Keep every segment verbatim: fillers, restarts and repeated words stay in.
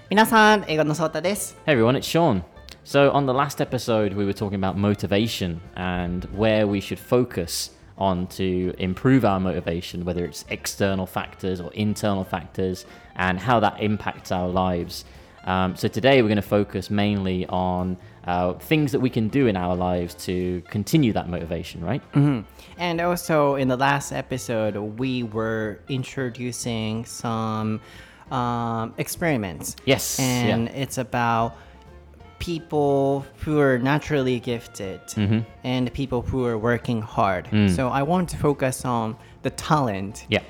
皆さん、英語のソータです。 Hey everyone, it's Sean. So on the last episode, we were talking about motivation and where we should focus on to improve our motivation, whether it's external factors or internal factors, and how that impacts our lives. Um, so today we're going to focus mainly on uh, things that we can do in our lives to continue that motivation, right? Mm-hmm. And also in the last episode, we were introducing some um, experiments. Yes. And yeah. it's about people who are naturally gifted mm-hmm. and people who are working hard. Mm. So I want to focus on the talent, Yeah.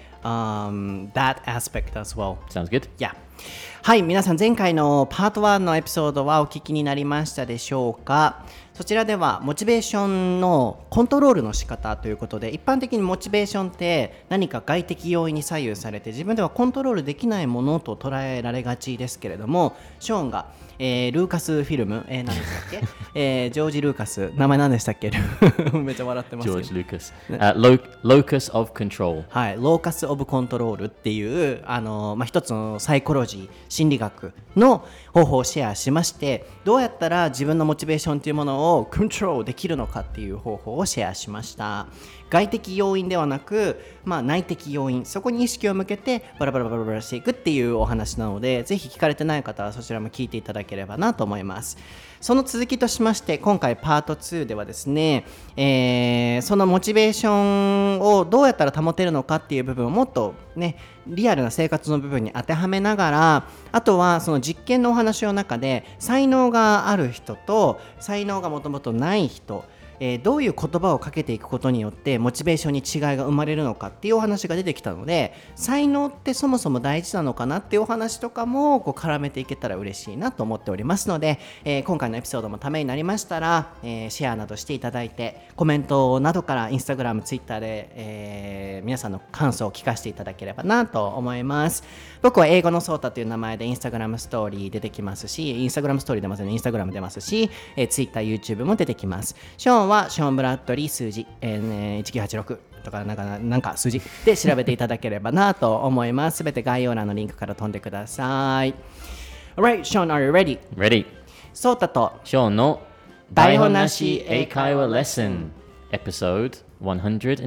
um, that aspect as well. Sounds good. Yeah. はい、皆さん前回のパートワンのエピソードはお聞きになりましたでしょうか。そちらではモチベーションのコントロールの仕方ということで、一般的にモチベーションって何か外的要因に左右されて自分ではコントロールできないものと捉えられがちですけれども、ショーンが、えー、ルーカスフィルム、えー、何でしたっけ、えー、ジョージ・ルーカス、名前何でしたっけめっちゃ笑ってますけど。 ジョージ・ルーカス、uh, Lo- Locus of Control。 はい、ローカス・オブ・コントロールっていう、あの、まあ、一つのサイコロジー、心理学の方法をシェアしまして、どうやったら自分のモチベーションというものをコントロールできるのかっていう方法をシェアしました。外的要因ではなく、まあ、内的要因、そこに意識を向けてバラバラバラバラしていくっていうお話なので、ぜひ聞かれてない方はそちらも聞いていただければなと思います。その続きとしまして、今回パートツーではですね、えー、そのモチベーションをどうやったら保てるのかっていう部分をもっとね、リアルな生活の部分に当てはめながら、あとはその実験のお話の中で才能がある人と才能がもともとない人、えー、どういう言葉をかけていくことによってモチベーションに違いが生まれるのかっていうお話が出てきたので、才能ってそもそも大事なのかなっていうお話とかもこう絡めていけたら嬉しいなと思っておりますので、えー、今回のエピソードもためになりましたら、えー、シェアなどしていただいて、コメントなどからインスタグラム、ツイッターで、えー、皆さんの感想を聞かせていただければなと思います。僕は英語のソータという名前でインスタグラムストーリー出てきますし、インスタグラムストーリー出ますね、インスタグラム出ますし、えー、ツイッター、YouTube も出てきます。ショーンはショーン・ブラッドリー数字、えーね、いちきゅうはちろくとかなんか、なんか数字で調べていただければなと思います。すべて概要欄のリンクから飛んでください。Alright, Sean, are you ready? Ready. ソータとショーンの台本なし英会話レッスン Episode one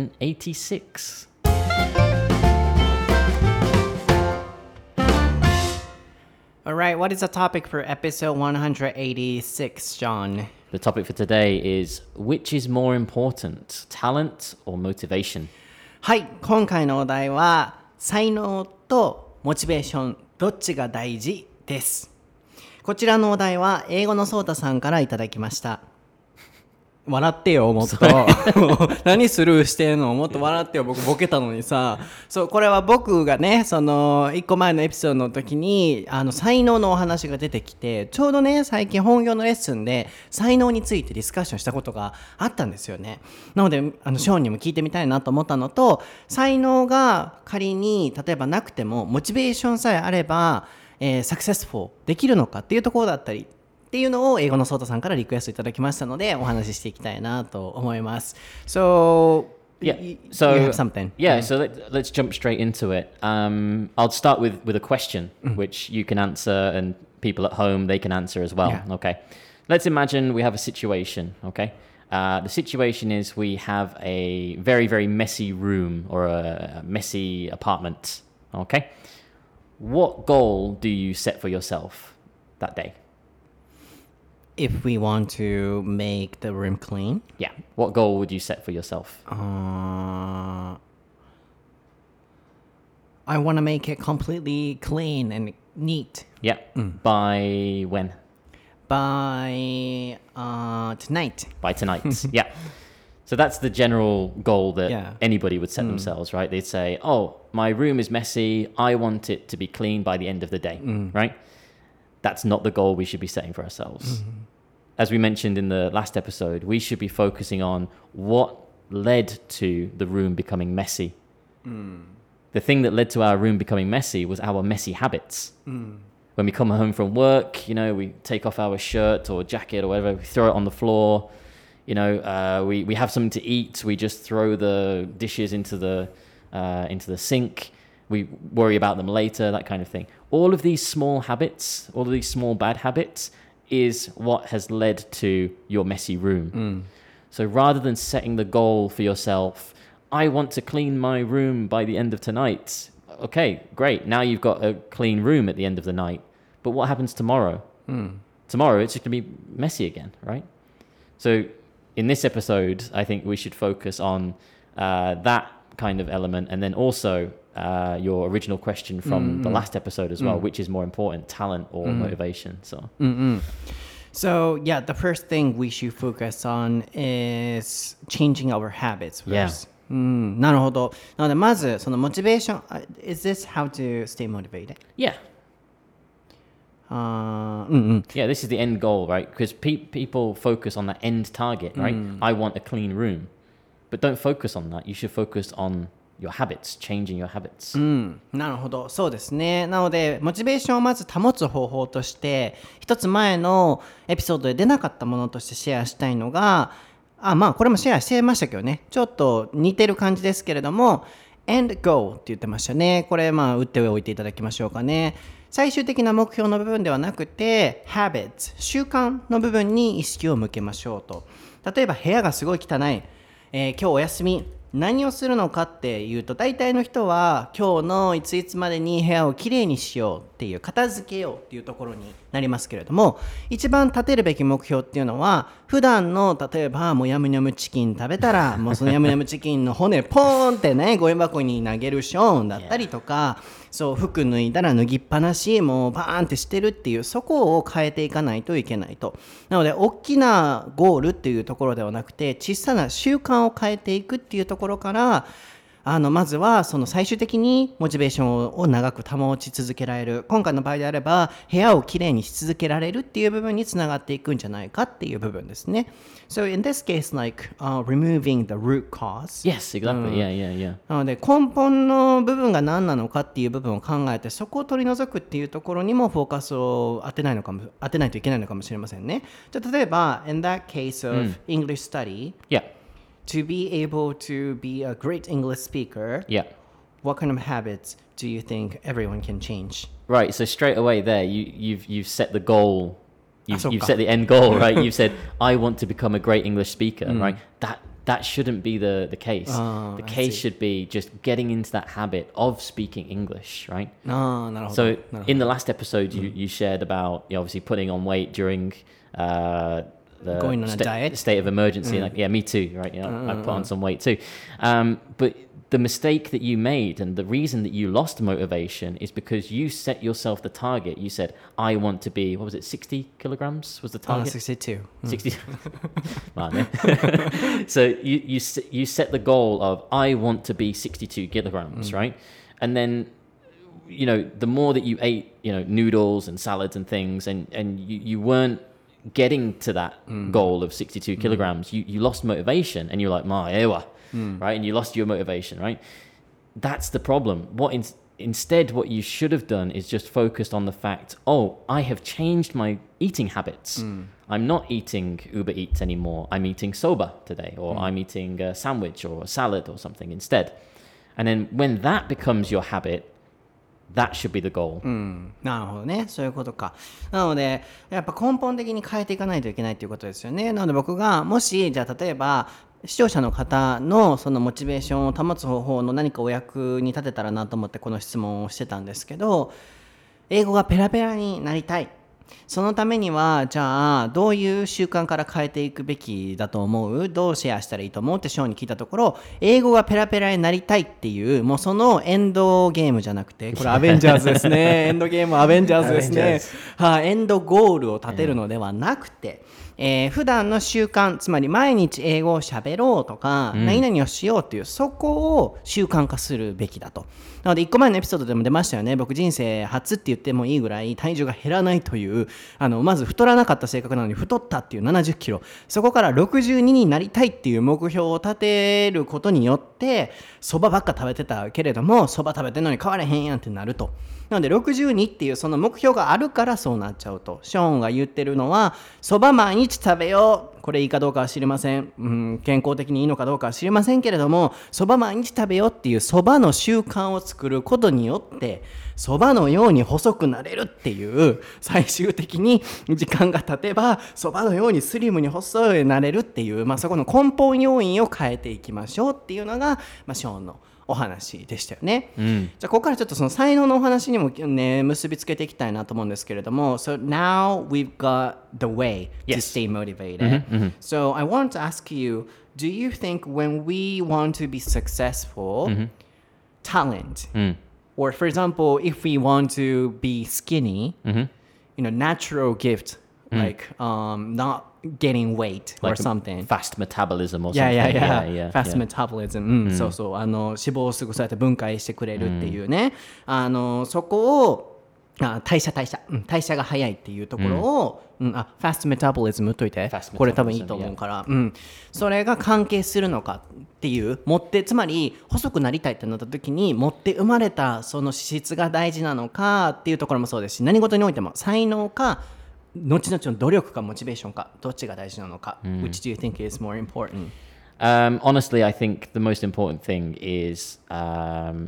eighty-six. Alright, what is the topic for episode one eighty-six, Sean? The topic for today is which is more important, talent or motivation? はい、今回のお題は才能とモチベーションどっちが大事です。こちらのお題は英語のソータさんからいただきました。笑ってよ、もっと何スルーしてんの、もっと笑ってよ、僕ボケたのにさ。そう、これは僕がね、そのいっこまえのエピソードの時にあの才能のお話が出てきて、ちょうどね最近本業のレッスンで才能についてディスカッションしたことがあったんですよね。なのであのショーンにも聞いてみたいなと思ったのと、才能が仮に例えばなくてもモチベーションさえあれば、えー、サクセスフォーできるのかっていうところだったりっていうのを英語のソータさんからリクエストいただきましたのでお話ししていきたいなと思います。So, Yeah. y- So you have something. Yeah. So let, let's jump straight into it. Um, I'll start with with a question, which you can answer, and people at home they can answer as well. Yeah. Okay. Let's imagine we have a situation. Okay. Uh, the situation is we have a very very messy room or a messy apartment. Okay. What goal do you set for yourself that day? If we want to make the room clean, Yeah. What goal would you set for yourself? uh, I want to make it completely clean and neat Yeah. By when? by uh, tonight. By tonight. Yeah. So that's the general goal that Yeah. anybody would set themselves, right? They'd say, oh, my room is messy. I want it to be clean by the end of the day, right? That's not the goal we should be setting for ourselves. Mm-hmm. As we mentioned in the last episode, we should be focusing on what led to the room becoming messy. Mm. The thing that led to our room becoming messy was our messy habits. Mm. When we come home from work, you know, we take off our shirt or jacket or whatever, we throw it on the floor. You know, uh, we, we have something to eat, we just throw the dishes into the uh, into the sink. we worry about them later, that kind of thing. All of these small habits, all of these small bad habits is what has led to your messy room. Mm. So rather than setting the goal for yourself, I want to clean my room by the end of tonight. Okay, great. Now you've got a clean room at the end of the night. But what happens tomorrow? Mm. Tomorrow it's just going to be messy again, right? So in this episode, I think we should focus on uh, that kind of element, and then also uh, your original question from mm. the last episode as well, mm. which is more important, talent or mm. motivation. So. Mm-mm. So yeah, the first thing we should focus on is changing our habits first. Yeah. うん、なるほど。なのでまずそのモチベーション Is this how to stay motivated? Yeah. Uh, うんうん。 Yeah, this is the end goal, right? Because pe- people focus on that end target, right? Mm. I want a clean room. But don't focus on that. You should focus on your habits, changing your habits. うん、なるほど、そうですね。なのでモチベーションをまず保つ方法として一つ前のエピソードで出なかったものとしてシェアしたいのが、あ、まあこれもシェアしてましたけどね、ちょっと似てる感じですけれども end goal って言ってましたね。これまあ打っておいていただきましょうかね。最終的な目標の部分ではなくて habits 習慣の部分に意識を向けましょうと。例えば部屋がすごい汚い、えー、今日お休み、何をするのかっていうと、大体の人は今日のいついつまでに部屋をきれいにしようっていう、片付けようっていうところになりますけれども、一番立てるべき目標っていうのは、普段の例えばもうヤムヤムチキン食べたらもうそのヤムヤムチキンの骨ポーンってねゴミ箱に投げるショーンだったりとか、そう服脱いだら脱ぎっぱなしもうバーンってしてるっていう、そこを変えていかないといけないと。なので大きなゴールっていうところではなくて、小さな習慣を変えていくっていうところからあのまずはその最終的にモチベーションを長く保ち続けられる、今回の場合であれば部屋をきれいにし続けられるっていう部分につながっていくんじゃないかっていう部分ですね。So in this case, like、uh, removing the root cause. Yes, exactly.、うん、yeah, yeah, yeah. なので根本の部分が何なのかっていう部分を考えて、そこを取り除くっていうところにもフォーカスを当てないのかも当てないといけないのかもしれませんね。じゃあ例えば in that case of、うん、English study、yeah.To be able to be a great English speaker, yeah. what kind of habits do you think everyone can change? Right, so straight away there, you, you've you've set the goal, you've, you've set the end goal, right? You've said, I want to become a great English speaker, mm. right? That that shouldn't be the, the case. Oh, the case should be just getting into that habit of speaking English, right? Oh, なるほど。 So in the last episode, you, you shared about, you know, obviously putting on weight during... Uh, The going on a sta- diet state of emergency, mm. like yeah, me too, right? You know, uh, I put on some weight too. Um, but the mistake that you made and the reason that you lost motivation is because you set yourself the target. You said, I want to be, what was it, sixty kilograms was the target? Uh, sixty-two. sixty. So you, you, you set the goal of, I want to be sixty-two kilograms, mm. right? And then, you know, the more that you ate, you know, noodles and salads and things, and, and you, you weren't getting to that mm. goal of sixty-two kilograms, mm. you, you lost motivation and you're like, Ma, ewa, mm. right? And you lost your motivation, right? That's the problem. What in, instead, what you should have done is just focused on the fact, oh, I have changed my eating habits. Mm. I'm not eating Uber Eats anymore. I'm eating soba today, or mm. I'm eating a sandwich or a salad or something instead. And then when that becomes your habit,That should be the goal. うん、なるほどね、そういうことか。なのでやっぱ根本的に変えていかないといけないということですよね。なので僕がもしじゃあ例えば視聴者の方のそのモチベーションを保つ方法の何かお役に立てたらなと思ってこの質問をしてたんですけど、英語がペラペラになりたい、そのためにはじゃあどういう習慣から変えていくべきだと思う、どうシェアしたらいいと思うってショーに聞いたところ、英語がペラペラになりたいっていう、もうそのエンドゲームじゃなくて、これアベンジャーズですねエンドゲームアベンジャーズですねはあ、エンドゴールを立てるのではなくて、えー、普段の習慣、つまり毎日英語を喋ろうとか、うん、何々をしようっていう、そこを習慣化するべきだと。なのでいっこまえのエピソードでも出ましたよね。僕人生初って言ってもいいぐらい体重が減らないという、あのまず太らなかった性格なのに太ったっていうななじゅっキロ、そこからろくじゅうにになりたいっていう目標を立てることによってそばばっか食べてたけれども、そば食べてるのに変われへんやんってなると。なのでろくじゅうにっていうその目標があるからそうなっちゃうと。ショーンが言ってるのは、そば毎日食べよう、 これいいかどうかは知りません、うん、健康的にいいのかどうかは知りませんけれども、そば毎日食べようっていうそばの習慣を作ることによってそばのように細くなれるっていう、最終的に時間が経てばそばのようにスリムに細くなれるっていう、まあ、そこの根本要因を変えていきましょうっていうのが、まあ、ショーンのお話でしたよね、うん、じゃあここからちょっとその才能のお話にもね結びつけていきたいなと思うんですけれども、 So now we've got the way to stay motivated、mm-hmm, mm-hmm. So I want to ask you, do you think when we want to be successful、mm-hmm. talent、mm. or for example if we want to be skinny、mm-hmm. you know, natural gift、mm. like um, not getting weight or like something, fast metabolism or something. Yeah, yeah, yeah. yeah, yeah fast yeah. metabolism、うん、そうそう、あの脂肪をすぐそうやって分解してくれるっていうね、あのそこをあ代謝代謝、うん、代謝が早いっていうところを、うんうん、あファストメタボリズム打っといて、これ多分いいと思うから、うん、それが関係するのかっていう、持ってつまり細くなりたいってなった時に持って生まれたその資質が大事なのかっていうところもそうですし、何事においても才能か後々の努力かモチベーションかどっちが大事なのか、mm. Which do you think is more important? Um, honestly, I think the most important thing is um,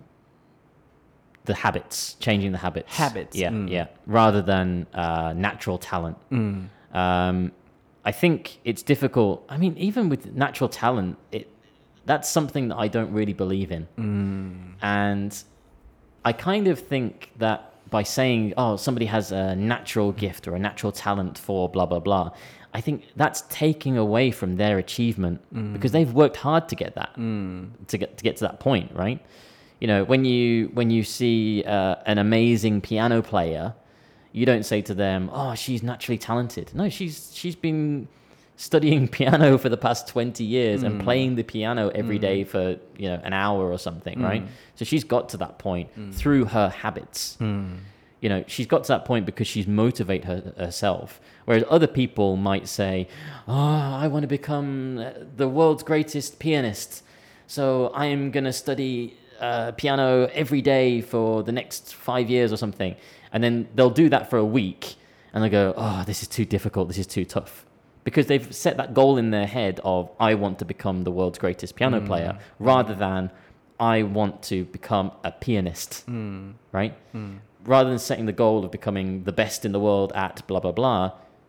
the habits, changing the habits. Habits. Yeah, mm. yeah. Rather than uh, natural talent. Mm. Um, I think it's difficult. I mean, even with natural talent, it that's something that I don't really believe in. Mm. And I kind of think that by saying, oh, somebody has a natural gift or a natural talent for blah, blah, blah, I think that's taking away from their achievement mm. because they've worked hard to get that, mm. to get to get to that point, right? You know, when you when you see uh, an amazing piano player, you don't say to them, oh, she's naturally talented. No, she's she's been studying piano for the past twenty years mm. and playing the piano every mm. day for, you know, an hour or something, mm. right? So she's got to that point mm. through her habits. Mm. You know, she's got to that point because she's motivated her, herself. Whereas other people might say, oh, I want to become the world's greatest pianist. So I'm going to study uh, piano every day for the next five years or something. And then they'll do that for a week and they'll go, oh, this is too difficult. This is too tough. Because they've set that goal in their head of, I want to become the world's greatest piano mm. player, rather than, I want to become a pianist, mm. right? Mm. Rather than setting the goal of becoming the best in the world at blah, blah, blah,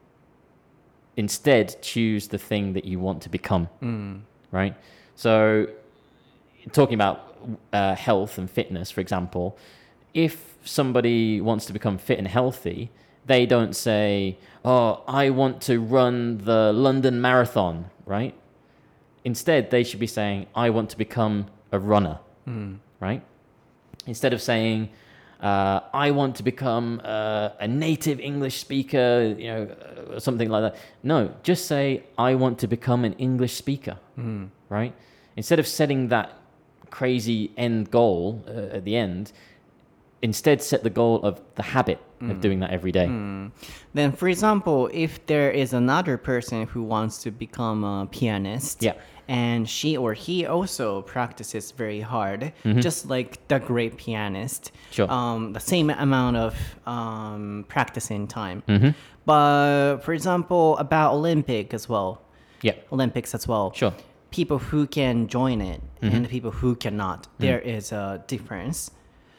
instead choose the thing that you want to become, mm. right? So talking about uh, health and fitness, for example, if somebody wants to become fit and healthy, they don't say, oh, I want to run the London Marathon, right? Instead, they should be saying, I want to become a runner, mm. right? Instead of saying, uh, I want to become uh, a native English speaker, you know, or something like that. No, just say, I want to become an English speaker, mm. right? Instead of setting that crazy end goal uh, at the end, instead set the goal of the habit mm. of doing that every day. Mm. Then, for example, if there is another person who wants to become a pianist, yeah. and she or he also practices very hard, mm-hmm. just like the great pianist, sure. um, the same amount of um, practicing time. Mm-hmm. But, for example, about Olympic as well, yeah. Olympics as well, sure. people who can join it mm-hmm. and people who cannot, mm-hmm. there is a difference.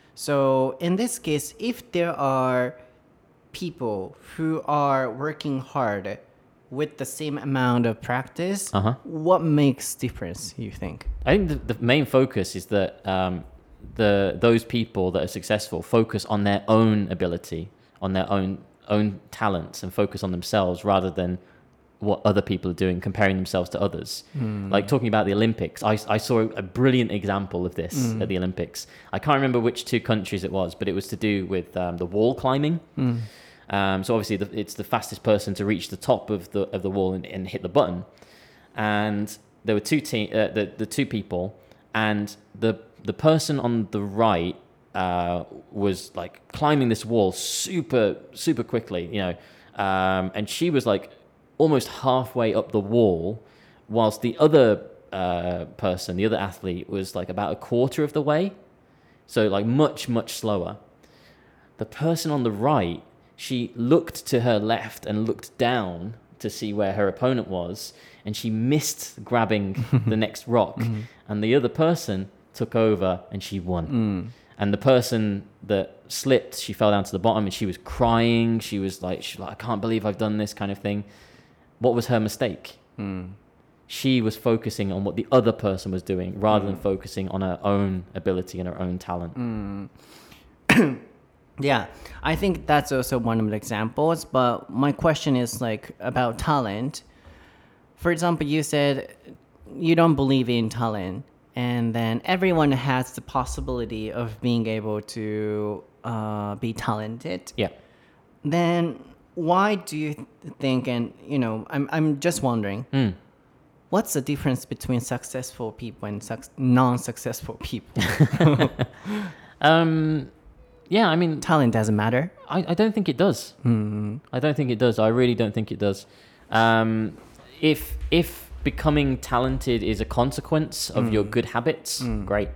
So in this case, if there are people who are working hard with the same amount of practice, uh-huh. what makes difference, you think? I think the, the main focus is that um, the those people that are successful focus on their own ability, on their own own talents, and focus on themselves rather than what other people are doing, comparing themselves to others. Mm. Like talking about the Olympics, I, I saw a brilliant example of this mm. at the Olympics. I can't remember which two countries it was, but it was to do with um, the wall climbing. Mm. Um, so obviously the, it's the fastest person to reach the top of the of the wall and, and hit the button. And there were two te- uh, the the two people, and the the person on the right uh, was like climbing this wall super super quickly, you know, um, and she was like almost halfway up the wall, whilst the other uh, person, the other athlete, was like about a quarter of the way. So like much, much slower. The person on the right, she looked to her left and looked down to see where her opponent was, and she missed grabbing the next rock, mm-hmm. and the other person took over and she won. Mm. And the person that slipped, she fell down to the bottom and she was crying. She was like, she was like I can't believe I've done this kind of thing. What was her mistake? Mm. She was focusing on what the other person was doing rather mm. than focusing on her own ability and her own talent. Mm. Yeah, I think that's also one of the examples. But my question is like about talent. For example, you said you don't believe in talent. And then everyone has the possibility of being able to uh, be talented. Yeah. Then why do you think, and you know, I'm I'm just wondering, mm. what's the difference between successful people and su- non-successful people? um, yeah, I mean, talent doesn't matter. I, I don't think it does. Mm-hmm. I don't think it does. I really don't think it does. Um, if if becoming talented is a consequence of mm. your good habits, mm. great.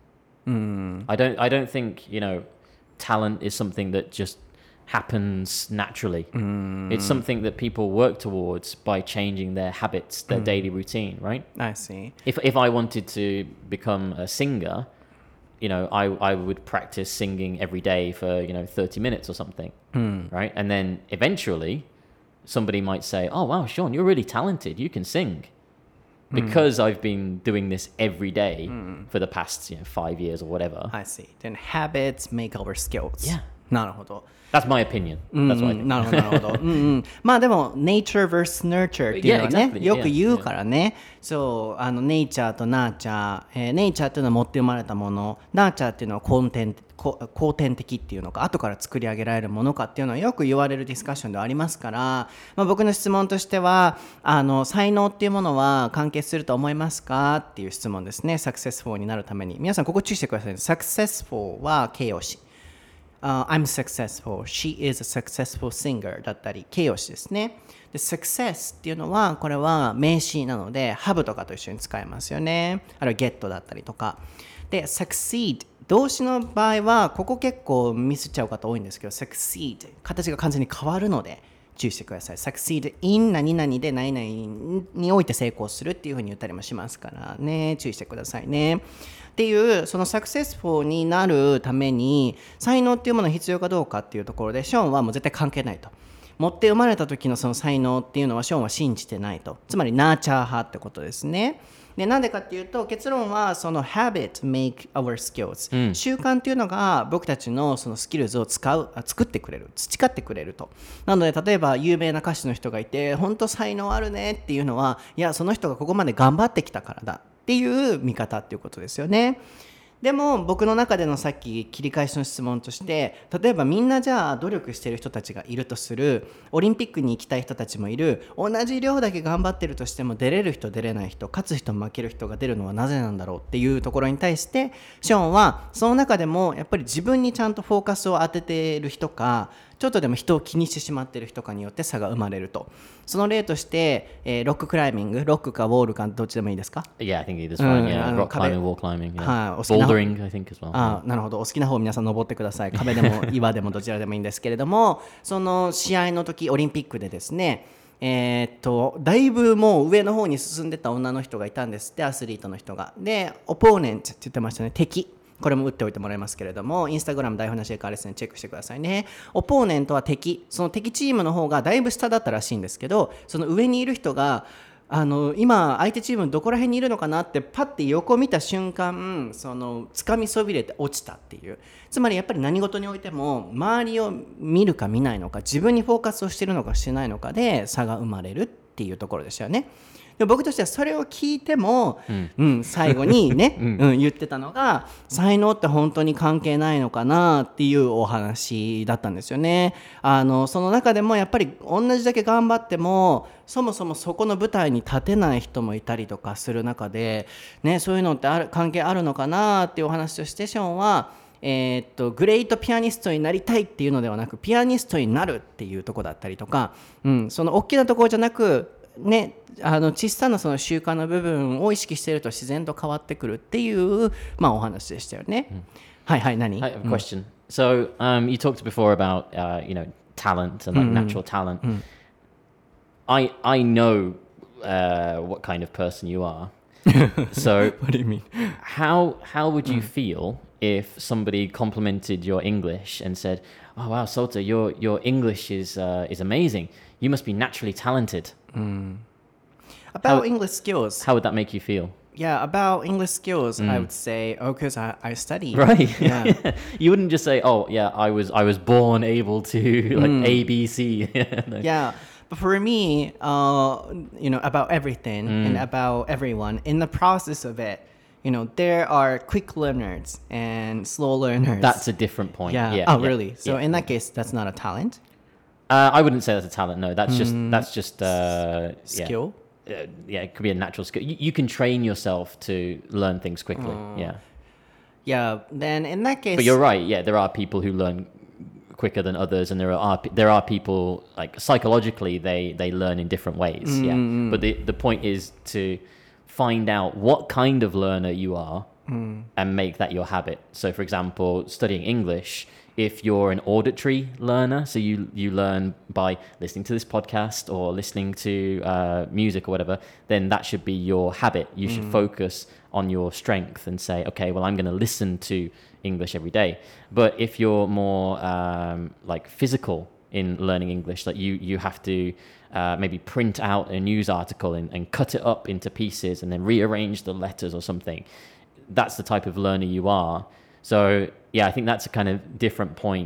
Mm. I don't I don't think, you know, talent is something that just happens naturally. Mm. It's something that people work towards by changing their habits, their mm. daily routine, right? I see. If if I wanted to become a singer, you know, I, I would practice singing every day for, you know, thirty minutes or something, mm. right? And then eventually somebody might say, oh, wow, Sean, you're really talented. You can sing. Because mm. I've been doing this every day mm. for the past, you know, five years or whatever. I see. Then habits make our skills. Yeah. なるほど。 That's my opinion. That's what I think. なるほど、なるほど。うんうん。まあでも、nature versus nurture っていうのはね、 yeah, exactly. よく言うからね。Yeah. そう、あの、nature と nurture。えー、nature っていうのは持って生まれたもの。nurture っていうのは後天、後天的っていうのか、後から作り上げられるものかっていうのはよく言われるディスカッションではありますから、まあ、僕の質問としては、あの、才能っていうものは関係すると思いますかっていう質問ですね。successful になるために。皆さん、ここ注意してくださいね。successful は形容詞。Uh, I'm successful. She is a successful singer だったり形容詞ですね。で success っていうのはこれは名詞なので have とかと一緒に使えますよね。あるいは get だったりとかで succeed 動詞の場合はここ結構ミスっちゃう方多いんですけど succeed 形が完全に変わるので注意してください。succeed in 何々で何々において成功するっていうふうに言ったりもしますからね、注意してくださいね。っていうそのサクセスフォーになるために才能っていうものが必要かどうかっていうところでショーンはもう絶対関係ないと。持って生まれた時のその才能っていうのはショーンは信じてないと。つまりナーチャー派ってことですね。でなんでかっていうと結論はその habit make our skills、うん、習慣っていうのが僕たちのそのスキルズを使う作ってくれる培ってくれると。なので例えば有名な歌手の人がいて本当才能あるねっていうのはいやその人がここまで頑張ってきたからだっていう見方っていうことですよね。でも僕の中でのさっき切り返しの質問として例えばみんなじゃあ努力している人たちがいるとするオリンピックに行きたい人たちもいる同じ量だけ頑張ってるとしても出れる人出れない人勝つ人負ける人が出るのはなぜなんだろうっていうところに対してショーンはその中でもやっぱり自分にちゃんとフォーカスを当てている人かちょっとでも人を気にしてしまっている人かによって差が生まれると。その例として、えー、ロッククライミング、ロックかウォールかどっちでもいいですか？ Yeah, I think either's fine. Yeah, rock climbing, wall climbing. Yeah. Bouldering, I think as well. あ、なるほど。お好きな方皆さん登ってください。壁でも岩でもどちらでもいいんですけれども、その試合の時オリンピックでですね、えー、っとだいぶもう上の方に進んでた女の人がいたんですって、アスリートの人が。で、オポーネントって言ってましたね、敵。これも打っておいてもらいますけれども、インスタグラム台本なしエカーレッスンチェックしてくださいね。オポーネントは敵、その敵チームの方がだいぶ下だったらしいんですけど、その上にいる人があの今相手チームどこら辺にいるのかなってパッて横見た瞬間、その掴みそびれて落ちたっていう。つまりやっぱり何事においても周りを見るか見ないのか、自分にフォーカスをしているのかしてないのかで差が生まれるっていうところでしたよね。で僕としてはそれを聞いても、うんうん、最後にね、うんうん、言ってたのが才能って本当に関係ないのかなっていうお話だったんですよね。あのその中でもやっぱり同じだけ頑張ってもそもそもそこの舞台に立てない人もいたりとかする中で、ね、そういうのってある関係あるのかなっていうお話としてショーンはえー、っとグレートピアニストになりたいっていうのではなくピアニストになるっていうところだったりとか、うん、その大きなところじゃなくね、あの小さなその習慣の部分を意識していると自然と変わってくるっていう、まあ、お話でしたよね。うん、はいはい何 I have a question.、うん、So、um, you talked before about、uh, you know talent and like、うん、natural talent.、うん、 I I know uh, what kind of person you are. So What do you mean? how how would you feel if somebody complimented your English and said, "Oh wow, Sota, your your English is uh, is amazing. You must be naturally talented." About How- English skills. How would that make you feel? Yeah, about English skills, I would say, oh, because I, I study. Right. Yeah. You wouldn't just say, "Oh yeah, I was I was born able to like A B C." No. Yeah. But for me, uh, you know, about everything and about everyone, in the process of it, you know, there are quick learners and slow learners. That's a different point. yeah. Yeah. Oh, yeah, really? So yeah. in that case, that's not a talent, Uh, I wouldn't say that's a talent. No, that's just that's just uh, yeah. skill. Uh, yeah, it could be a natural skill. You, you can train yourself to learn things quickly. Yeah, Yeah. Then in that case, but you're right. Yeah, there are people who learn quicker than others, and there are there are people like psychologically they they learn in different ways. Yeah, but the the point is to find out what kind of learner you are and make that your habit. So, for example, studying English. If you're an auditory learner, so you you learn by listening to this podcast or listening to uh, music or whatever, then that should be your habit. You should focus on your strength and say, okay, well, I'm going to listen to English every day. But if you're more um, like physical in learning English, like you you have to uh, maybe print out a news article and, and cut it up into pieces and then rearrange the letters or something. That's the type of learner you are. So yeah, I think that's a kind of different point.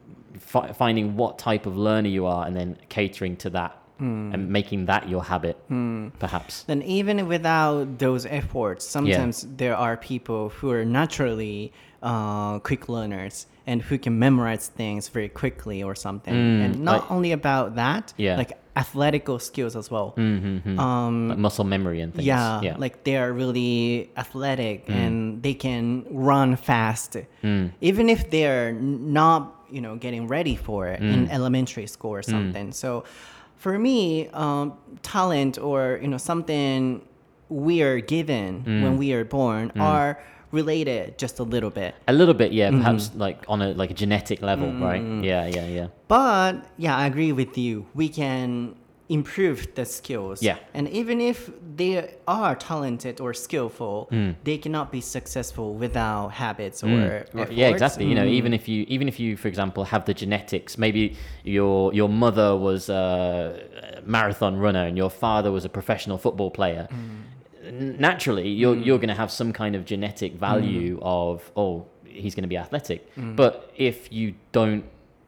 F- finding what type of learner you are and then catering to that and making that your habit, perhaps. Then even without those efforts, sometimes there are people who are naturally uh, quick learners and who can memorize things very quickly or something. And not like- only about that, Yeah. like athletical skills as well. Mm-hmm. Um, Like muscle memory and things. yeah, yeah. like they are really athletic and they can run fast, even if they're n- not, you know, getting ready for it in elementary school or something. So, for me, um, talent or you know something we are given when we are born are related just a little bit. A little bit, yeah. Perhaps like on a like a genetic level, right? Yeah, yeah, yeah. But yeah, I agree with you. We can improve the skills. Yeah. And even if they are talented or skillful, they cannot be successful without habits or Right, efforts. yeah, exactly. You know, even if you even if you, for example, have the genetics, maybe your your mother was a marathon runner and your father was a professional football player. N- Naturally, you're you're going to have some kind of genetic value of oh, he's going to be athletic. But if you don't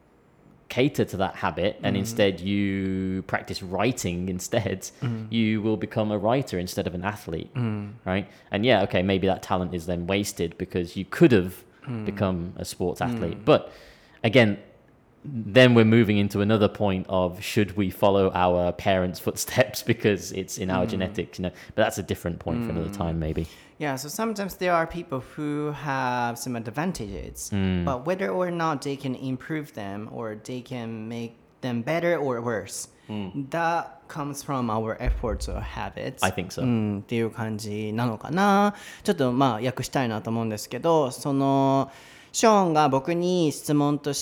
cater to that habit and instead you practice writing instead, you will become a writer instead of an athlete, right? And yeah, okay, maybe that talent is then wasted because you could have become a sports athlete. But again, then we're moving into another point of should we follow our parents' footsteps because it's in our genetics, you know? But that's a different point for another time, maybe. Yeah, so sometimes there are people who have some advantages, but whether or not they can improve them or they can make them better or worse, that comes from our efforts or habits. I think so. うんっていう感じなのかな。ちょっとまあ訳したいなと思うんですけど、そのショーンが僕に質問として、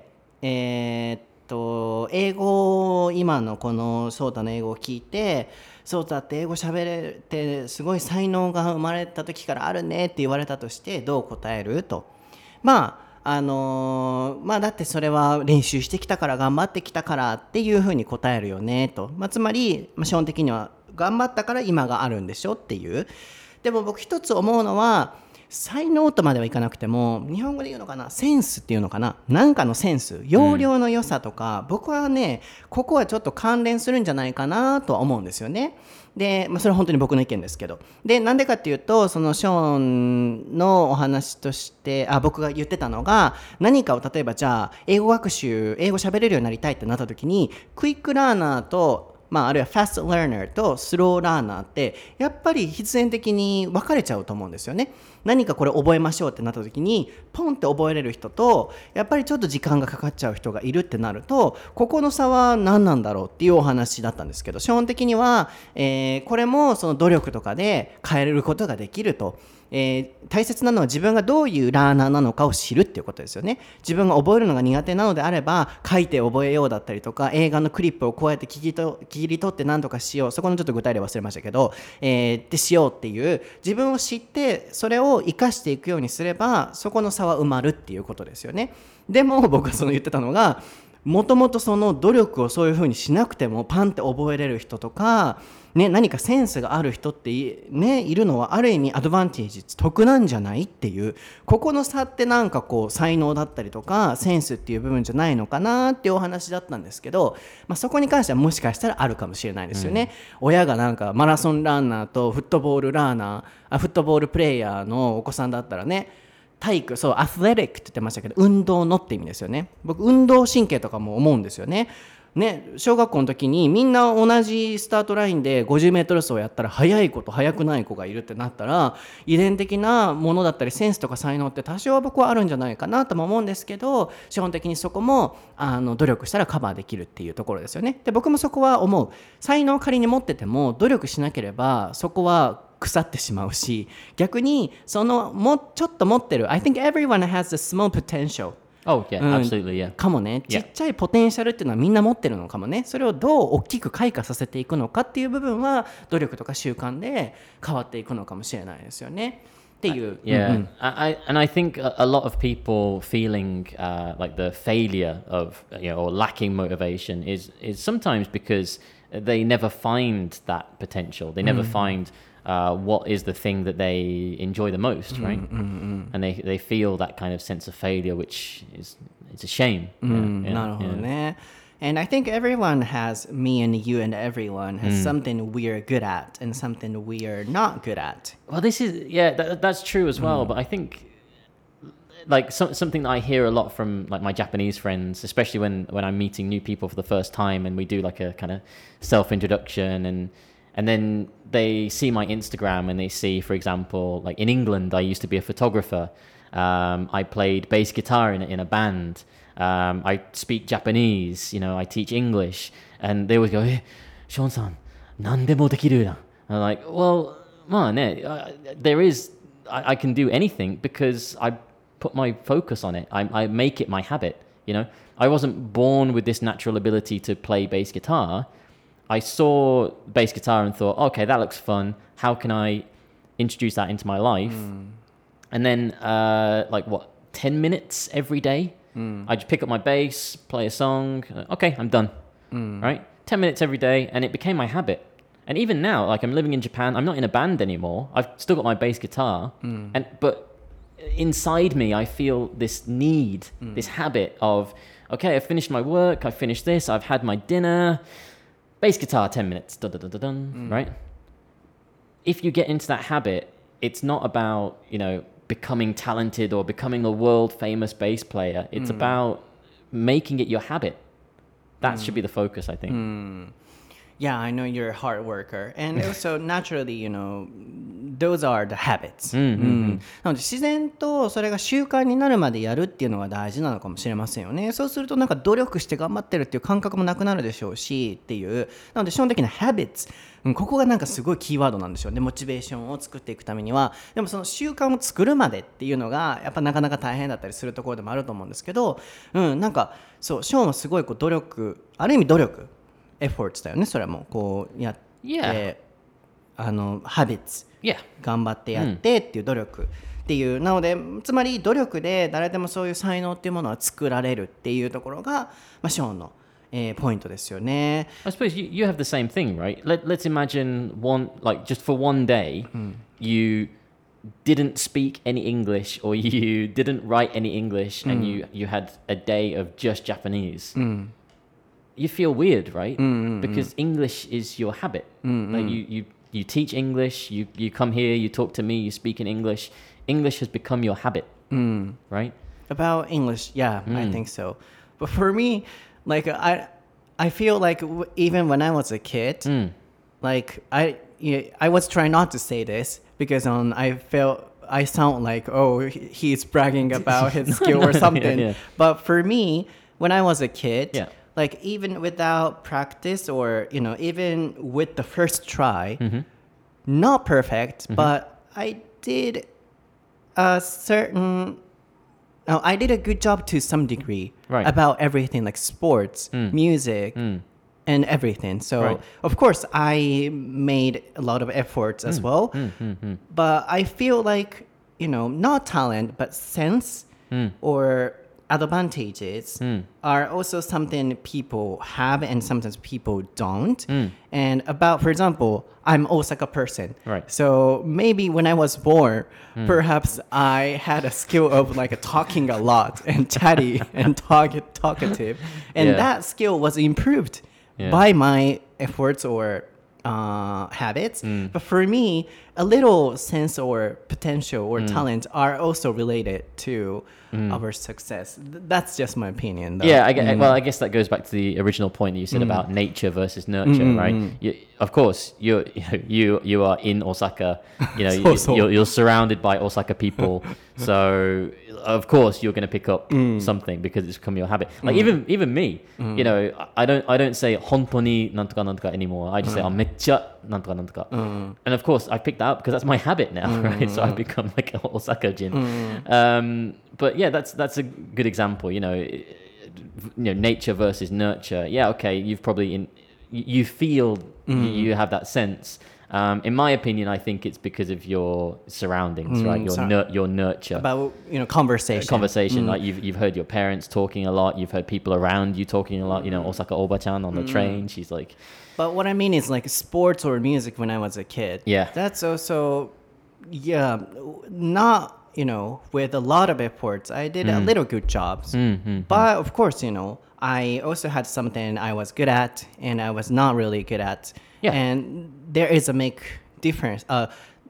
えーっと英語を今のこのソータの英語を聞いて、ソータって英語喋れてすごい才能が生まれた時からあるねって言われたとしてどう答えると。まああのーまあだってそれは練習してきたから頑張ってきたからっていうふうに答えるよねと、まあ、つまり、まあ、基本的には頑張ったから今があるんでしょっていう。でも僕一つ思うのは才能とまではいかなくても日本語で言うのかなセンスっていうのかななんかのセンス要領の良さとか、うん、僕はねここはちょっと関連するんじゃないかなとは思うんですよね。で、まあ、それは本当に僕の意見ですけどでなんでかっていうとそのショーンのお話としてあ僕が言ってたのが何かを例えばじゃあ英語学習英語喋れるようになりたいってなった時にクイックラーナーとまあ、あるいはファストラーナーとスローラーナーってやっぱり必然的に分かれちゃうと思うんですよね。何かこれ覚えましょうってなった時にポンって覚えれる人とやっぱりちょっと時間がかかっちゃう人がいるってなるとここの差は何なんだろうっていうお話だったんですけど基本的には、えー、これもその努力とかで変えることができると。 えー、大切なのは自分がどういうラーナーなのかを知るっていうことですよね。自分が覚えるのが苦手なのであれば書いて覚えようだったりとか、映画のクリップをこうやって聞きと切り取って何とかしよう、そこのちょっと具体例忘れましたけど、えー、ってしようっていう、自分を知ってそれを生かしていくようにすればそこの差は埋まるっていうことですよね。でも僕がその言ってたのが、もともとその努力をそういう風にしなくてもパンって覚えれる人とか、ね、何かセンスがある人って、ね、いるのはある意味アドバンテージ、得なんじゃないっていう、ここの差ってなんかこう才能だったりとかセンスっていう部分じゃないのかなっていうお話だったんですけど、まあ、そこに関してはもしかしたらあるかもしれないですよね、うん、親がなんかマラソンランナーとフットボールラーナーあフットボールプレイヤーのお子さんだったらね、体育、そうアスレティックって言ってましたけど、運動のって意味ですよね。僕運動神経とかも思うんですよね。ね、小学校の時にみんな同じスタートラインでごじゅうメートル走をやったら速い子と速くない子がいるってなったら、遺伝的なものだったりセンスとか才能って多少は僕はあるんじゃないかなとも思うんですけど、基本的にそこもあの努力したらカバーできるっていうところですよね。で僕もそこは思う。才能を仮に持ってても努力しなければそこは腐ってしまうし、逆にそのもちょっと持ってる I think everyone has a small potential、Oh yeah,、うん、absolutely yeah. かもね、ちっちゃいポテンシャルっていうのはみんな持ってるのかもね。それをどう大きく開花させていくのかっていう部分は努力とか習慣で変わっていくのかもしれないですよねっていう。 Yeah、うんうん、I, and I think a, a lot of people feeling、uh, like the failure of, you know, or lacking motivation is is sometimes because they never find that potential. They never、うん、find、uh, what is the thing that they enjoy the most, right? うんうんうん、and they they feel that kind of sense of failure, which is it's a shame. うん、yeah, なるほどね。And I think everyone has, me and you and everyone has、mm. something we are good at and something we are not good at. Well, this is, yeah, that, that's true as well. Mm. But I think, like, so, something that I hear a lot from, like, my Japanese friends, especially when, when I'm meeting new people for the first time and we do, like, a kind of self-introduction and and then they see my Instagram and they see, for example, like, in England, I used to be a photographer. Um, I played bass guitar in, in a band.Um, I speak Japanese, you know, I teach English, and they always go, "Hey, Sean-san, 何でもできるな." I'm like, well, まあね, uh, there is, I, I can do anything because I put my focus on it. I, I make it my habit, you know. I wasn't born with this natural ability to play bass guitar. I saw bass guitar and thought, okay, that looks fun. How can I introduce that into my life? Mm. And then, uh, like what, ten minutes every day?Mm. I just pick up my bass, play a song. Okay, I'm done. Mm. Right? ten minutes every day, and it became my habit. And even now, like I'm living in Japan, I'm not in a band anymore. I've still got my bass guitar, mm. and but inside me, I feel this need, mm. this habit of, okay, I've finished my work, I've finished this, I've had my dinner. Bass guitar, ten minutes. Dun, dun, dun, dun, dun, mm. Right? If you get into that habit, it's not about, you know,becoming talented or becoming a world famous bass player. It's、mm. about making it your habit. That、mm. should be the focus, I think.、Mm. Yeah, I know you're a hard worker. And also, naturally, you know, those are the habits. うんうんうん、なので自然とそれが習慣になるまでやるっていうのが大事なのかもしれませんよね。そうするとなんか努力して頑張ってるっていう感覚もなくなるでしょうしっていう。なので基本的な habits、うん、ここがなんかすごいキーワードなんでしょうね。モチベーションを作っていくためには。でもその習慣を作るまでっていうのがやっぱなかなか大変だったりするところでもあると思うんですけど、うん、なんかそうショーンはすごいこう努力、ある意味努力エフォーツだよね。それもこうやって、 yeah. あのハビッツ、 yeah. 頑張ってやってっていう努力っていう、うん、なのでつまり努力で誰でもそういう才能っていうものは作られるっていうところが、まあ、ショーンの、えー、ポイントですよね。 I suppose you, you have the same thing, right? Let, let's imagine one, like just for one day、うん、you didn't speak any English or you didn't write any English、うん、and you, you had a day of just Japanese、うんYou feel weird, right? Mm-hmm. Because English is your habit. Mm-hmm. Like you, you, you teach English, you, you come here, you talk to me, you speak in English. English has become your habit, mm. right? About English, yeah, mm. I think so. But for me, like I, I feel like w- even when I was a kid, mm. like I, you know, I was trying not to say this because um, I felt I sound like oh he's bragging about his skill or something. yeah, yeah. But for me, when I was a kid. Yeah.Like even without practice or, you know, even with the first try, mm-hmm. not perfect, mm-hmm. but I did a certain oh, I did a good job to some degree Right. about everything like sports, music, and everything. So Right. of course I made a lot of efforts as well. But I feel like, you know, not talent but sense or advantages are also something people have and sometimes people don't. And about, for example, I'm Osaka person. Right. So maybe when I was born, perhaps I had a skill of like talking a lot and chatty and talk talkative. And Yeah. that skill was improved Yeah. by my efforts or uh, habits. But for me, a little sense or potential or talent are also related to our success. Th- that's just my opinion, though. Yeah, I get, well, I guess that goes back to the original point that you said about nature versus nurture, right? You, of course, you're, you know, you you are in Osaka. You know, you, So-so. you're, you're surrounded by Osaka people, so of course you're going to pick up something because it's become your habit. Like even even me, you know, I don't I don't say 本当になんとかなんとか anymore. I just say あめっちゃなんとかなんとか. And of course, I picked that up because that's my habit now, right? So I've become like an Osaka Jin. Um, but yeah, that's that's a good example. You know, you know, nature versus nurture. Yeah, okay, you've probably in you feel you have that sense. Um, in my opinion, I think it's because of your surroundings, right? Your so- nur- your nurture. About, you know, conversation. Conversation, like you've you've heard your parents talking a lot, you've heard people around you talking a lot. You know, Osaka Oba-chan on the train, she's like, But what I mean is like sports or music when I was a kid. Yeah. That's also, yeah, not, you know, with a lot of efforts. I did a little good jobs. But of course, you know, I also had something I was good at and I was not really good at. Yeah. And there is a make difference. Uh,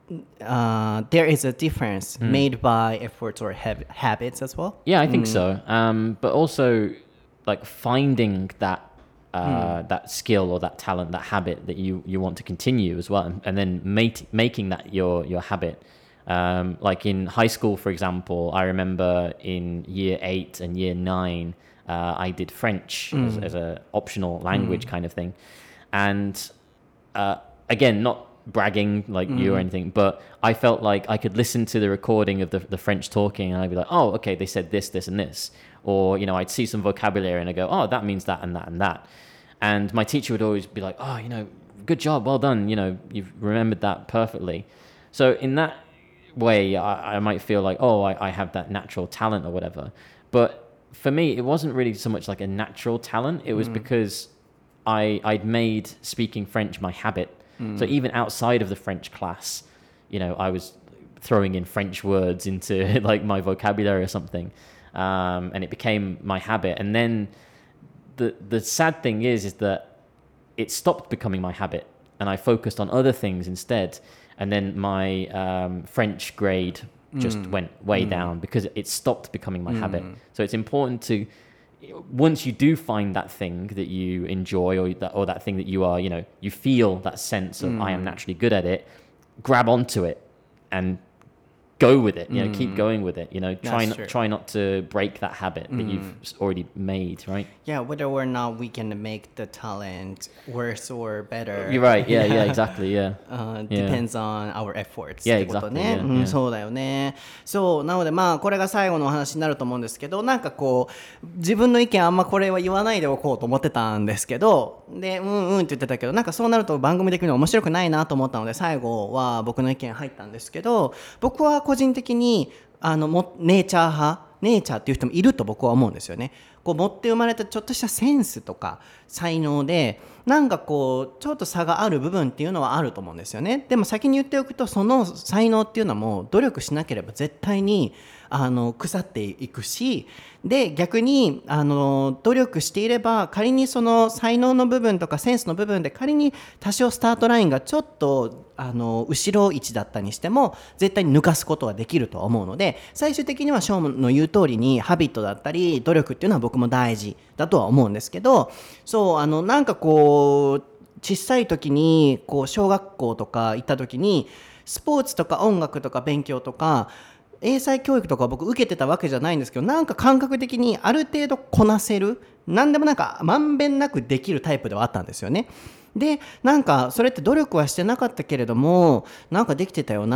uh, there is a difference made by efforts or hab- habits as well. yeah, I think so. Um, but also, like finding that uh, that skill or that talent, that habit that you, you want to continue as well, and, and then make, making that your your habit. Um, like in high school, for example, I remember in year eight and year nine, uh, I did French as, as a optional language kind of thing, and uh, again, not bragging like you or anything, but I felt like I could listen to the recording of the, the French talking and I'd be like, oh, okay, they said this, this, and this. Or, you know, I'd see some vocabulary and I go, oh, that means that and that and that. And my teacher would always be like, oh, you know, good job, well done. You know, you've remembered that perfectly. So in that way, I, I might feel like, oh, I, I have that natural talent or whatever. But for me, it wasn't really so much like a natural talent. It was because I, I'd made speaking French my habit. So even outside of the French class, you know, I was throwing in French words into like my vocabulary or something. Um, and it became my habit. And then the the sad thing is, is that it stopped becoming my habit and I focused on other things instead. And then my um, French grade just mm. went way mm. down because it stopped becoming my mm. habit. So it's important to, once you do find that thing that you enjoy or that, or that thing that you are, you know, you feel that sense of mm. I am naturally good at it, grab onto it and go with it, you know, mm. keep going with it, you know, try not, try not to break that habit that mm. you've already made, right? Yeah, whether or not we can make the talent worse or better. You're right, yeah, yeah, exactly, yeah. Uh, depends yeah. on our efforts. Yeah, exactly. ね yeah, うん、 yeah. そうだよね。そう、なのでまあこれが最後のお話になると思うんですけど、なんかこう自分の意見あんまこれは言わないでおこうと思ってたんですけど、で、うんうんって言ってたけど、なんかそうなると番組的に面白くないなと思ったので、最後は僕の意見入ったんですけど、僕は個人的にあのもネイチャー派ネイチャーっていう人もいると僕は思うんですよね。こう持って生まれたちょっとしたセンスとか才能でなんかこうちょっと差がある部分っていうのはあると思うんですよね。でも先に言っておくとその才能っていうのはもう努力しなければ絶対にあの腐っていくし、で逆にあの努力していれば仮にその才能の部分とかセンスの部分で仮に多少スタートラインがちょっとあの後ろ位置だったにしても絶対に抜かすことはできると思うので、最終的にはショーンの言う通りにハビットだったり努力っていうのは僕も大事だとは思うんですけど、そうあのなんかこう小さい時にこう小学校とか行った時にスポーツとか音楽とか勉強とか英才教育とか僕受けてたわけじゃないんですけど、なんか感覚的にある程度こなせる、何でもなんかまんべんなくできるタイプではあったんですよね。でなんかそれって努力はしてなかったけれどもなんかできてたよなっ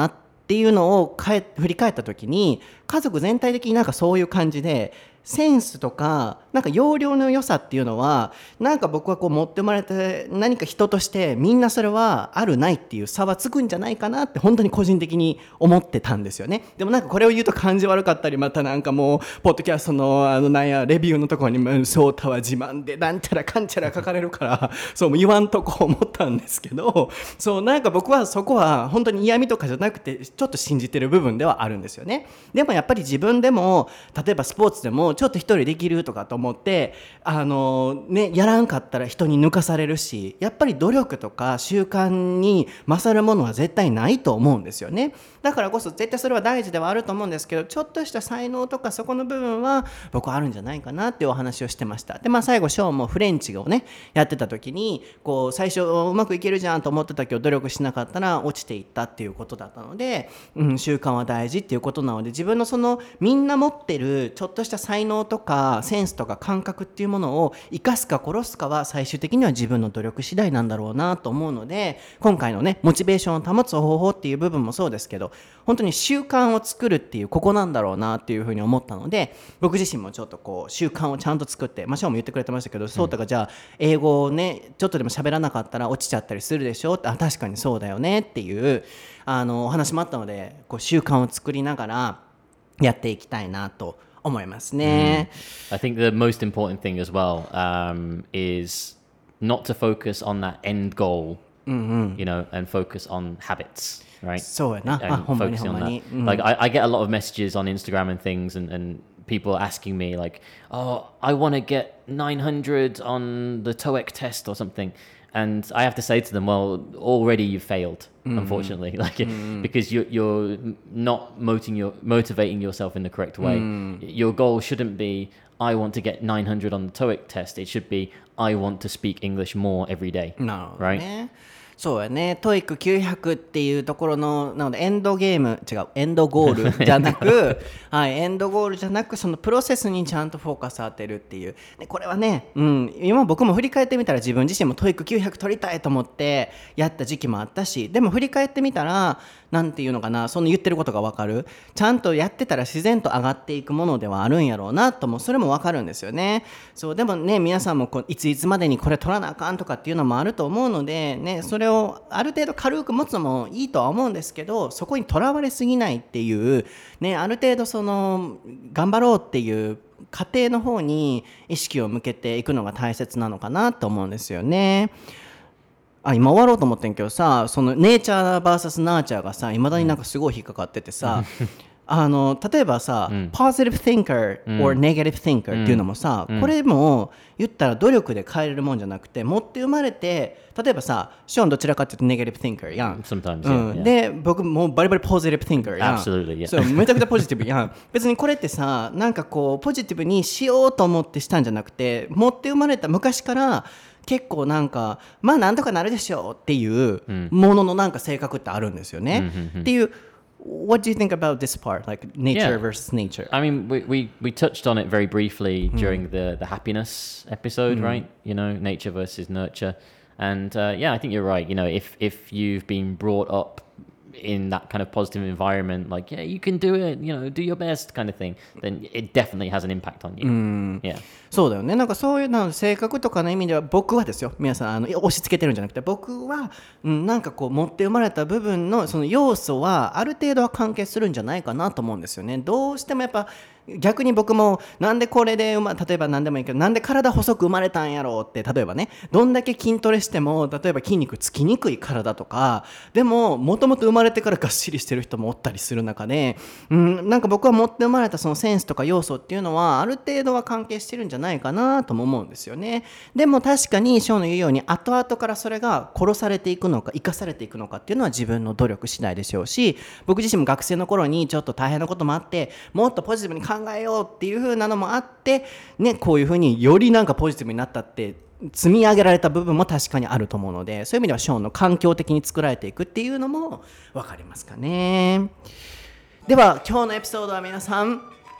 っていうのをかえ振り返った時に家族全体的になんかそういう感じでセンスとかなんか容量の良さっていうのはなんか僕はこう持って生まれて何か人としてみんなそれはあるないっていう差はつくんじゃないかなって本当に個人的に思ってたんですよね。でもなんかこれを言うと感じ悪かったりまたなんかもうポッドキャストのあのなんやレビューのところにソータは自慢でなんちゃらかんちゃら書かれるからそう言わんとこ思ったんですけどそうなんか僕はそこは本当に嫌味とかじゃなくてちょっと信じてる部分ではあるんですよね。でもやっぱり自分でも例えばスポーツでもちょっと一人できるとかと思ってあの、ね、やらんかったら人に抜かされるしやっぱり努力とか習慣に勝るものは絶対ないと思うんですよね。だからこそ絶対それは大事ではあると思うんですけどちょっとした才能とかそこの部分は僕はあるんじゃないかなっていうお話をしてました。で、まあ、最後ショーンもフレンチをねやってた時にこう最初うまくいけるじゃんと思ってたけど努力しなかったら落ちていったっていうことだったので、うん、習慣は大事っていうことなので自分のそのみんな持ってるちょっとした才能とかセンスとか感覚っていうものを生かすか殺すかは最終的には自分の努力次第なんだろうなと思うので今回のねモチベーションを保つ方法っていう部分もそうですけど本当に習慣を作るっていうここなんだろうなっていうふうに思ったので僕自身もちょっとこう習慣をちゃんと作ってまあショーも言ってくれてましたけど、うん、そうたがじゃあ英語をねちょっとでも喋らなかったら落ちちゃったりするでしょってあ確かにそうだよねっていうあのお話もあったのでこう習慣を作りながらやっていきたいなと思いますね。 Mm. I think the most important thing as well um, is not to focus on that end goal, mm-hmm. you know, and focus on habits, right? そうやな。 And あ、ほんまに focusing ほん on ま that. に。うん、 Like I, I get a lot of messages on Instagram and things, and, and people asking me like, "Oh, I want to get nine hundred on the TOEIC test or something." And I have to say to them, well, already you've failed, mm-hmm. unfortunately, like mm-hmm. because you're, you're not motivating, your, motivating yourself in the correct way. Mm. Your goal shouldn't be, I want to get nine hundred on the TOEIC test. It should be, I want to speak English more every day, no, right? ねそうやね。トーイックきゅうひゃくっていうところのなのでエンドゲーム違うエンドゴールじゃなくはい、エンドゴールじゃなくそのプロセスにちゃんとフォーカス当てるっていうでこれはね、うん、今僕も振り返ってみたら自分自身もトーイックきゅうひゃく取りたいと思ってやった時期もあったしでも振り返ってみたらなんていうのかなその言ってることが分かるちゃんとやってたら自然と上がっていくものではあるんやろうなともそれも分かるんですよね。そうでもね皆さんもこういついつまでにこれ取らなあかんとかっていうのもあると思うのでねそれをある程度軽く持つのもいいとは思うんですけどそこにとらわれすぎないっていうねある程度その頑張ろうっていう過程の方に意識を向けていくのが大切なのかなと思うんですよね。あ今終わろうと思ってんけどさそのネイチャー ブイエス ナーチャーがさいまだになんかすごい引っかかっててさ、うん、あの例えばさ、うん、positive thinker or negative thinker っていうのもさ、うん、これも言ったら努力で変えれるもんじゃなくて持って生まれて例えばさショーンどちらかっていうとネガティブ thinker やん Sometimes、 うん、で僕もうバリバリポジティブ thinker やん Absolutely、yeah. そうめちゃくちゃポジティブやん別にこれってさなんかこうポジティブにしようと思ってしたんじゃなくて持って生まれた昔から結構なんかまあなんとかなるでしょうっていうもののなんか性格ってあるんですよね、うん、っていう What do you think about this part like nature、yeah. versus nature? I mean we, we, we touched on it very briefly during、mm. the, the happiness episode、mm. right? You know nature versus nurture and、uh, yeah I think you're right you know if, if you've been brought up in that kind of positive environment like yeah you can do it you know do your best kind of thing then it definitely has an impact on you、mm. yeah そうだよねなんかそういうの性格とかの意味では僕はですよ皆さんあの押し付けてるんじゃなくて僕は、うん、なんかこう持って生まれた部分のその要素はある程度は関係するんじゃないかなと思うんですよねどうしてもやっぱ逆に僕もなんでこれで、ま、例えば何でもいいけどなんで体細く生まれたんやろうって例えばねどんだけ筋トレしても例えば筋肉つきにくい体とかでももともと生まれてからがっしりしてる人もおったりする中で、うん、なんか僕は持って生まれたそのセンスとか要素っていうのはある程度は関係してるんじゃないかなとも思うんですよねでも確かにショーの言うように後々からそれが殺されていくのか生かされていくのかっていうのは自分の努力次第でしょうし僕自身も学生の頃にちょっと大変なこともあってもっとポジティブに考えようっていう風なのもあって、ね、こういう風によりなんかポジティブになったって積み上げられた部分も確かにあると思うのでそういう意味ではショーンの環境的に作られていくっていうのも分かりますかね。では今日のエピソードは皆さん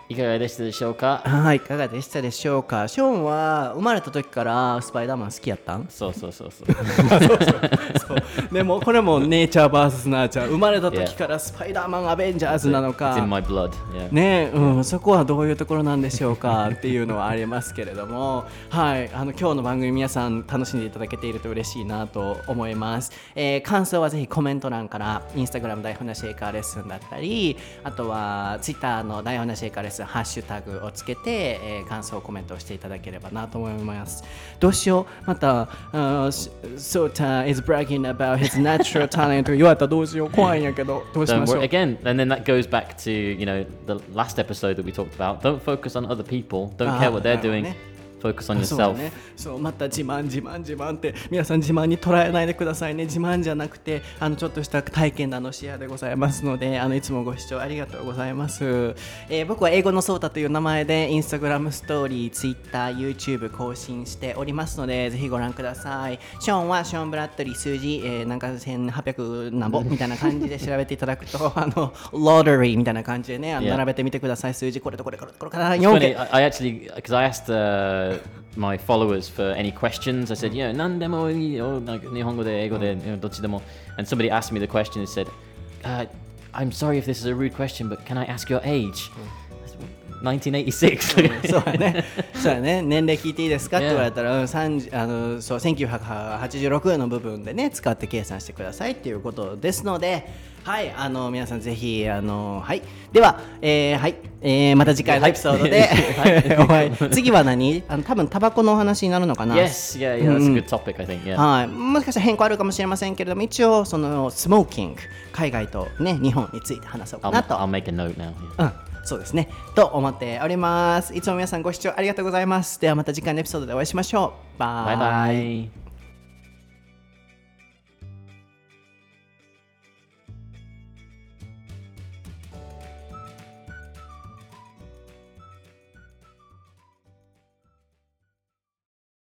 いかがでしたでしょうか？ はい、いかがでしたでしょうか。ショーンは生まれた時からスパイダーマン好きやったん？ そうそうそうそう。 そうでもこれもネイチャー ブイエス ナーチャー、生まれた時からスパイダーマンアベンジャーズなのか It's in my blood. Yeah. ね、うん、そこはどういうところなんでしょうかっていうのはありますけれども、はい、あの今日の番組皆さん楽しんでいただけていると嬉しいなと思います。えー、感想はぜひコメント欄から、インスタグラム台本なシェイカーレッスンだったり、あとはツイッターの台本なシェイカーレッスンハッシュタグをつけて、えー、感想コメントをしていただければなと思います。どうしよう、また、uh, Sota is bragging about his natural talent と言われたらどうしよう、怖いんやけど、どうしましょう。 Again, and then that goes back to, you know, the last episode that we talked about. Don't focus on other people. Don't care what they're doing.Focus on yourself. そうね、そうまた自慢自慢自慢って皆さん自慢に捉えないでくださいね。自慢じゃなくてあのちょっとした体験談のシェアでございますので、あのいつもご視聴ありがとうございます。えー、僕は英語のソータという名前でインスタグラムストーリー、ツイッター、YouTube 更新しておりますのでぜひご覧ください。ショーンはショーン・ブラッドリー数字、えー、なんかせんはっぴゃくなんぼみたいな感じで調べていただくとあのロータリーみたいな感じでね、あの並べてみてください。数字これとこれこれこれからよんけい。 I actually, because I asked、uh,my followers for any questions. I said, yeah, 何でもいいよ、なんか日本語で英語で、どっちでも。And somebody asked me the question and said, uh, I'm sorry if this is a rude question, but can I ask your age? nineteen eighty-six そうやね、そうやね、年齢聞いていいですかって言われたら、さんじゅうあのそうせんきゅうひゃくはちじゅうろくの部分でね使って計算してくださいっていうことですので、はい、あの皆さんぜひあのはいでは、えー、はい、えー、また次回のエピソードで、はい、次は何？あの多分タバコのお話になるのかな。 Yes, yeah, yeah, that's a good topic, I think. Yeah. はい、もしかしたら変更あるかもしれませんけれども、一応そのスモーキング、海外とね日本について話そうかなと。 I'll, I'll make a note now. Yeah. うん。そうですねと思っております。いつも皆さんご視聴ありがとうございます。ではまた次回のエピソードでお会いしましょう。バイバイ。